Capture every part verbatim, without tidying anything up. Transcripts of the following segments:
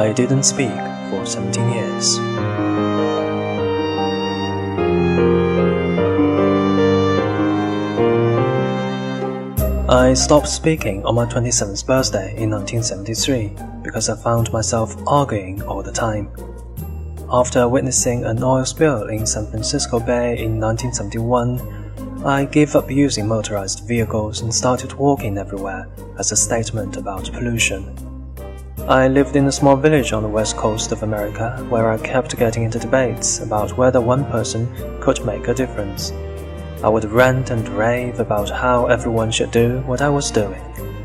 I didn't speak for seventeen years. I stopped speaking on my twenty-seventh birthday in nineteen seventy-three because I found myself arguing all the time. After witnessing an oil spill in San Francisco Bay in nineteen seventy-one, I gave up using motorized vehicles and started walking everywhere as a statement about pollution. I lived in a small village on the west coast of America where I kept getting into debates about whether one person could make a difference. I would rant and rave about how everyone should do what I was doing.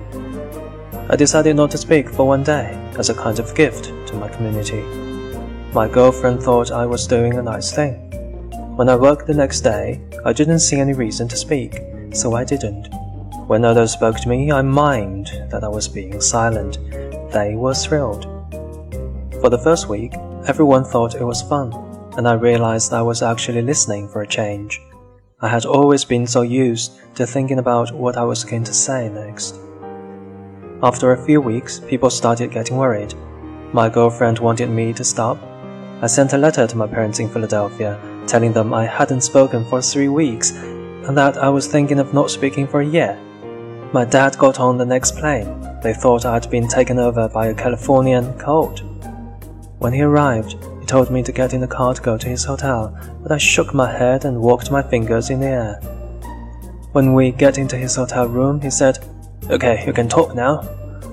I decided not to speak for one day as a kind of gift to my community. My girlfriend thought I was doing a nice thing. When I worked the next day, I didn't see any reason to speak, so I didn't. When others spoke to me, I mimed that I was being silent. They were thrilled. For the first week, everyone thought it was fun, and I realized I was actually listening for a change. I had always been so used to thinking about what I was going to say next. After a few weeks, people started getting worried. My girlfriend wanted me to stop. I sent a letter to my parents in Philadelphia, telling them I hadn't spoken for three weeks and that I was thinking of not speaking for a year. My dad got on the next plane. They thought I'd been taken over by a Californian cold. When he arrived, he told me to get in the car to go to his hotel, but I shook my head and walked my fingers in the air. When we get into his hotel room, he said, "Okay, you can talk now."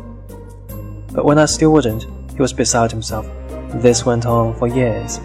But when I still wouldn't, he was beside himself. This went on for years.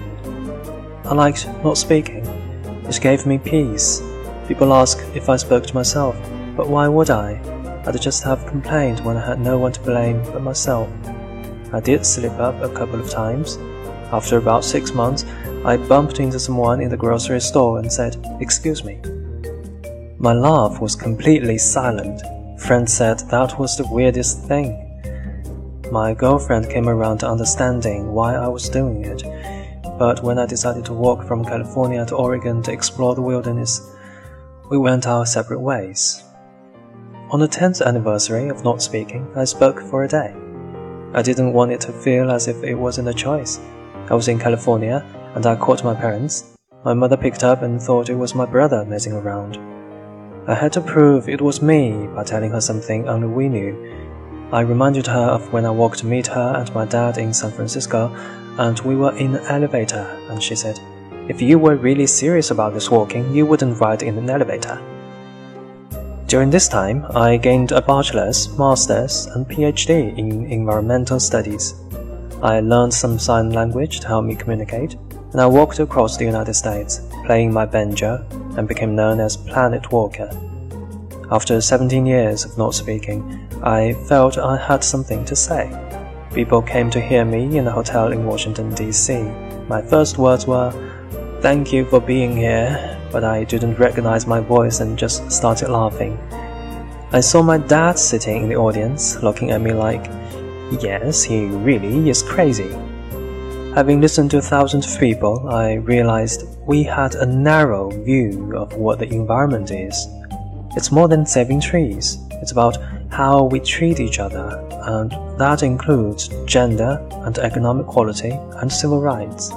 I liked not speaking. It gave me peace. People ask if I spoke to myself, but why would I? I'd just have complained when I had no one to blame but myself. I did slip up a couple of times. After about six months, I bumped into someone in the grocery store and said, "Excuse me." My laugh was completely silent. Friends said that was the weirdest thing. My girlfriend came around to understanding why I was doing it, but when I decided to walk from California to Oregon to explore the wilderness, we went our separate ways. On the tenth anniversary of not speaking, I spoke for a day. I didn't want it to feel as if it wasn't a choice. I was in California, and I called my parents. My mother picked up and thought it was my brother messing around. I had to prove it was me by telling her something only we knew. I reminded her of when I walked to meet her and my dad in San Francisco, and we were in an elevator, and she said, "If you were really serious about this walking, you wouldn't ride in an elevator." During this time, I gained a bachelor's, master's, and PhD in environmental studies. I learned some sign language to help me communicate, and I walked across the United States, playing my banjo, and became known as Planet Walker. After seventeen years of not speaking, I felt I had something to say. People came to hear me in a hotel in Washington, D C My first words were, "Thank you for being here," but I didn't recognize my voice and just started laughing. I saw my dad sitting in the audience, looking at me like, yes, he really is crazy. Having listened to thousands of people, I realized we had a narrow view of what the environment is. It's more than saving trees. It's about how we treat each other, and that includes gender and economic equality and civil rights.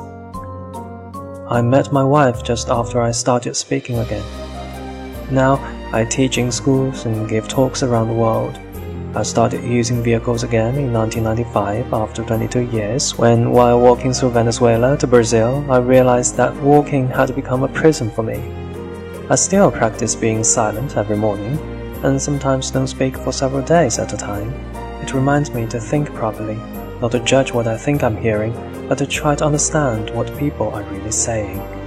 I met my wife just after I started speaking again. Now, I teach in schools and give talks around the world. I started using vehicles again in nineteen ninety-five after twenty-two years, when while walking through Venezuela to Brazil, I realized that walking had become a prison for me. I still practice being silent every morning, and sometimes don't speak for several days at a time. It reminds me to think properly, not to judge what I think I'm hearing, but to try to understand what people are really saying.